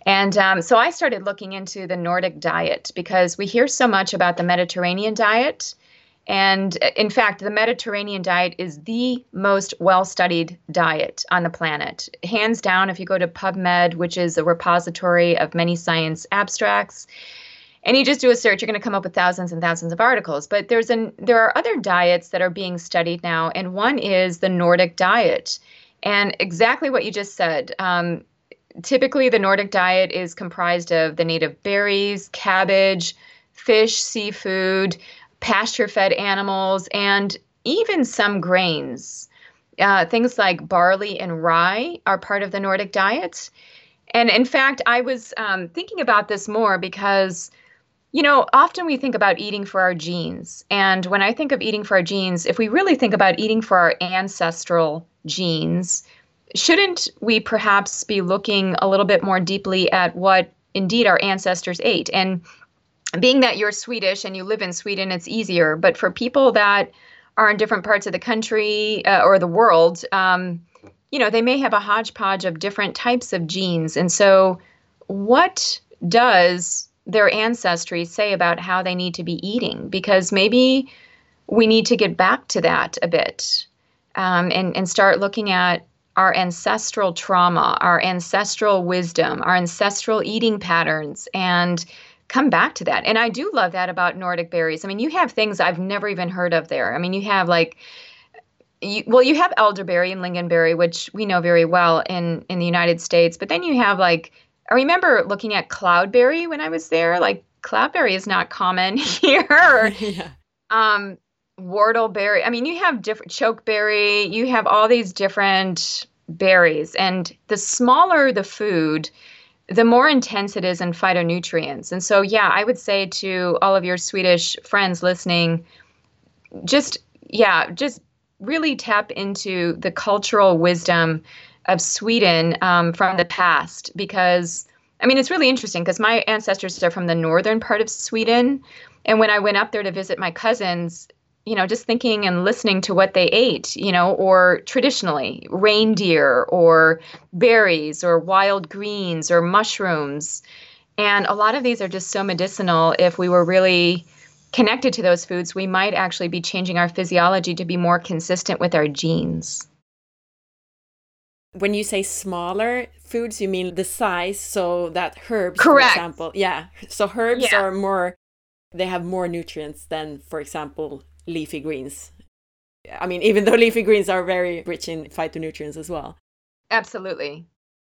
And so I started looking into the Nordic diet because we hear so much about the Mediterranean diet. And in fact, the Mediterranean diet is the most well-studied diet on the planet. Hands down, if you go to PubMed, which is a repository of many science abstracts, and you just do a search, you're going to come up with thousands and thousands of articles. But there are other diets that are being studied now, and one is the Nordic diet. And exactly what you just said. Typically, the Nordic diet is comprised of the native berries, cabbage, fish, seafood, pasture-fed animals, and even some grains. Things like barley and rye are part of the Nordic diet. And in fact, I was thinking about this more because, often we think about eating for our genes. And when I think of eating for our genes, if we really think about eating for our ancestral genes, shouldn't we perhaps be looking a little bit more deeply at what indeed our ancestors ate? And being that you're Swedish and you live in Sweden, it's easier. But for people that are in different parts of the country or the world, they may have a hodgepodge of different types of genes. And so what does their ancestry say about how they need to be eating? Because maybe we need to get back to that a bit and start looking at our ancestral trauma, our ancestral wisdom, our ancestral eating patterns, and come back to that. And I do love that about Nordic berries. I mean, you have things I've never even heard of there. I mean, you have you have elderberry and lingonberry, which we know very well in the United States. But then you have I remember looking at cloudberry when I was there. Like cloudberry is not common here. Yeah. Whortleberry. I mean, you have different chokeberry. You have all these different berries. And the smaller the food, the more intense it is in phytonutrients. And so, yeah, I would say to all of your Swedish friends listening, just really tap into the cultural wisdom of Sweden from the past. Because, I mean, it's really interesting because my ancestors are from the northern part of Sweden. And when I went up there to visit my cousins, just thinking and listening to what they ate, or traditionally reindeer or berries or wild greens or mushrooms. And a lot of these are just so medicinal. If we were really connected to those foods, we might actually be changing our physiology to be more consistent with our genes. When you say smaller foods, you mean the size, so that herbs, Correct. For example. Yeah. So herbs are they have more nutrients than, for example, leafy greens. I mean, even though leafy greens are very rich in phytonutrients as well. Absolutely.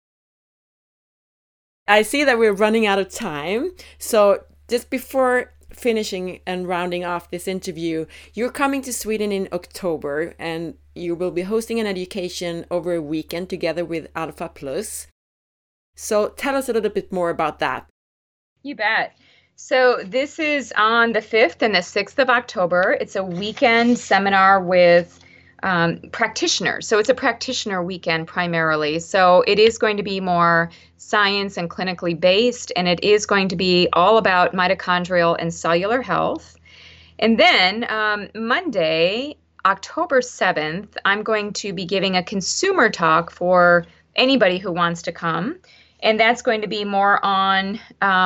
I see that we're running out of time. So just before finishing and rounding off this interview, you're coming to Sweden in October and you will be hosting an education over a weekend together with Alpha Plus. So tell us a little bit more about that. You bet. So this is on the 5th and the 6th of October. It's a weekend seminar with practitioners. So it's a practitioner weekend primarily. So it is going to be more science and clinically based, and it is going to be all about mitochondrial and cellular health. And then Monday, October 7th, I'm going to be giving a consumer talk for anybody who wants to come. And that's going to be more on...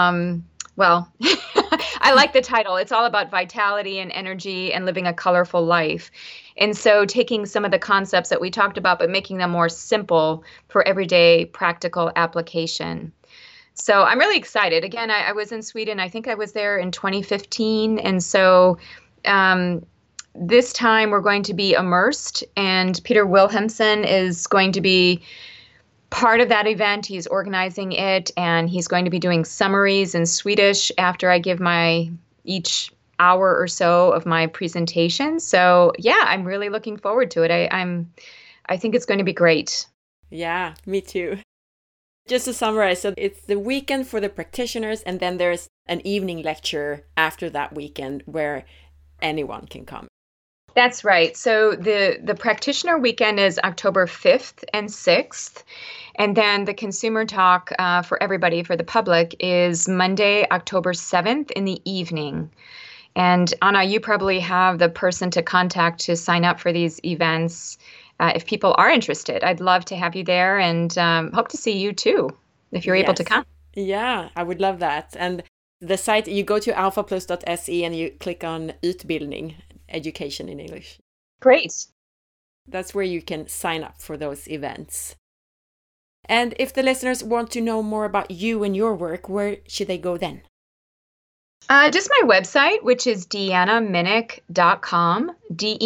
I like the title. It's all about vitality and energy and living a colorful life. And so taking some of the concepts that we talked about, but making them more simple for everyday practical application. So I'm really excited. Again, I was in Sweden. I think I was there in 2015. And so this time we're going to be immersed, and Peter Wilhelmsen is going to be part of that event. He's organizing it, and he's going to be doing summaries in Swedish after I give each hour or so of my presentation. So yeah, I'm really looking forward to it. I think it's going to be great. Yeah, me too. Just to summarize, so it's the weekend for the practitioners, and then there's an evening lecture after that weekend where anyone can come. That's right. So the practitioner weekend is October 5th and 6th. And then the consumer talk for everybody, for the public, is Monday, October 7th in the evening. And Anna, you probably have the person to contact to sign up for these events if people are interested. I'd love to have you there, and hope to see you too if you're able to come. Yeah, I would love that. And the site, you go to alphaplus.se and you click on Utbildning, education in English. Great. That's where you can sign up for those events. And if the listeners want to know more about you and your work, where should they go then? Just my website, which is deannaminich.com,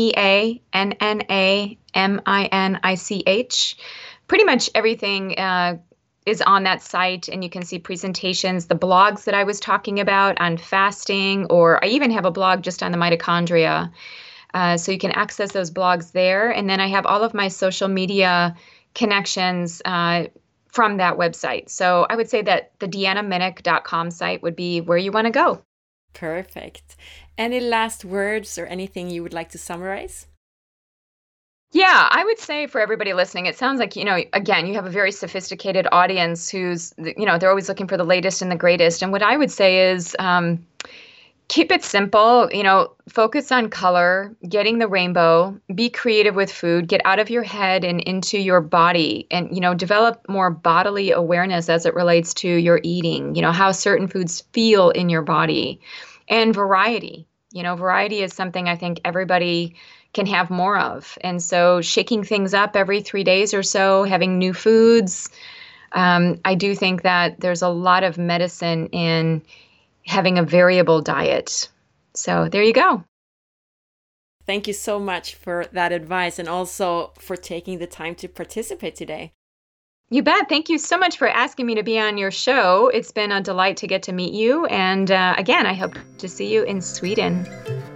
DeannaMinich. Pretty much everything is on that site, and you can see presentations, the blogs that I was talking about on fasting, or I even have a blog just on the mitochondria. So you can access those blogs there. And then I have all of my social media connections from that website. So I would say that the deannaminich.com site would be where you want to go. Perfect. Any last words or anything you would like to summarize? Yeah, I would say for everybody listening, it sounds like, again, you have a very sophisticated audience who's, they're always looking for the latest and the greatest. And what I would say is keep it simple, focus on color, getting the rainbow, be creative with food, get out of your head and into your body, and, develop more bodily awareness as it relates to your eating, how certain foods feel in your body, and variety. Variety is something I think everybody can have more of. And so shaking things up every 3 days or so, having new foods. I do think that there's a lot of medicine in having a variable diet. So there you go. Thank you so much for that advice and also for taking the time to participate today. You bet. Thank you so much for asking me to be on your show. It's been a delight to get to meet you. And again, I hope to see you in Sweden.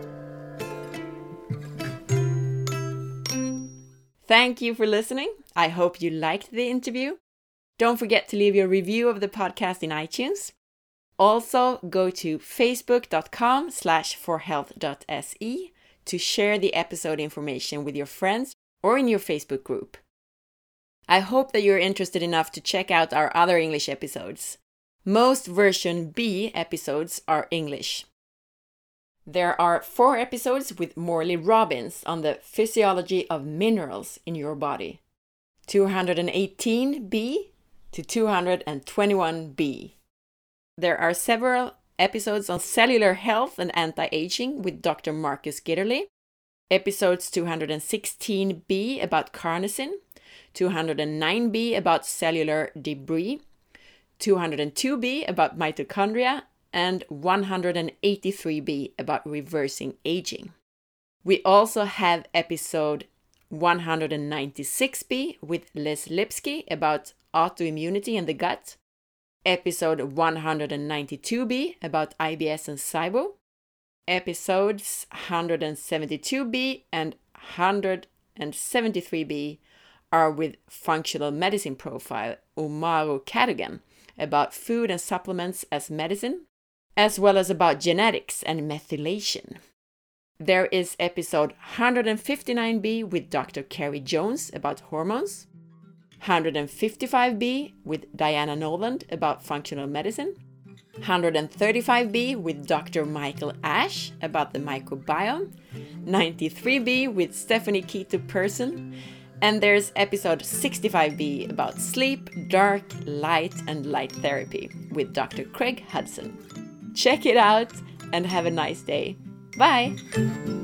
Thank you for listening. I hope you liked the interview. Don't forget to leave your review of the podcast in iTunes. Also, go to facebook.com/forhealth.se to share the episode information with your friends or in your Facebook group. I hope that you're interested enough to check out our other English episodes. Most version B episodes are English. There are 4 episodes with Morley Robbins on the physiology of minerals in your body. 218B to 221B. There are several episodes on cellular health and anti-aging with Dr. Marcus Gitterly. Episodes 216B about carnosine, 209B about cellular debris, 202B about mitochondria, and 183B about reversing aging. We also have episode 196B with Liz Lipsky about autoimmunity in the gut, episode 192B about IBS and SIBO, episodes 172B and 173B are with functional medicine profile Umaru Cadogan about food and supplements as medicine, as well as about genetics and methylation. There is episode 159B with Dr. Carrie Jones about hormones, 155B with Diana Noland about functional medicine, 135B with Dr. Michael Ash about the microbiome, 93B with Stephanie Keto Person, and there's episode 65B about sleep, dark, light, and light therapy with Dr. Craig Hudson. Check it out and have a nice day. Bye!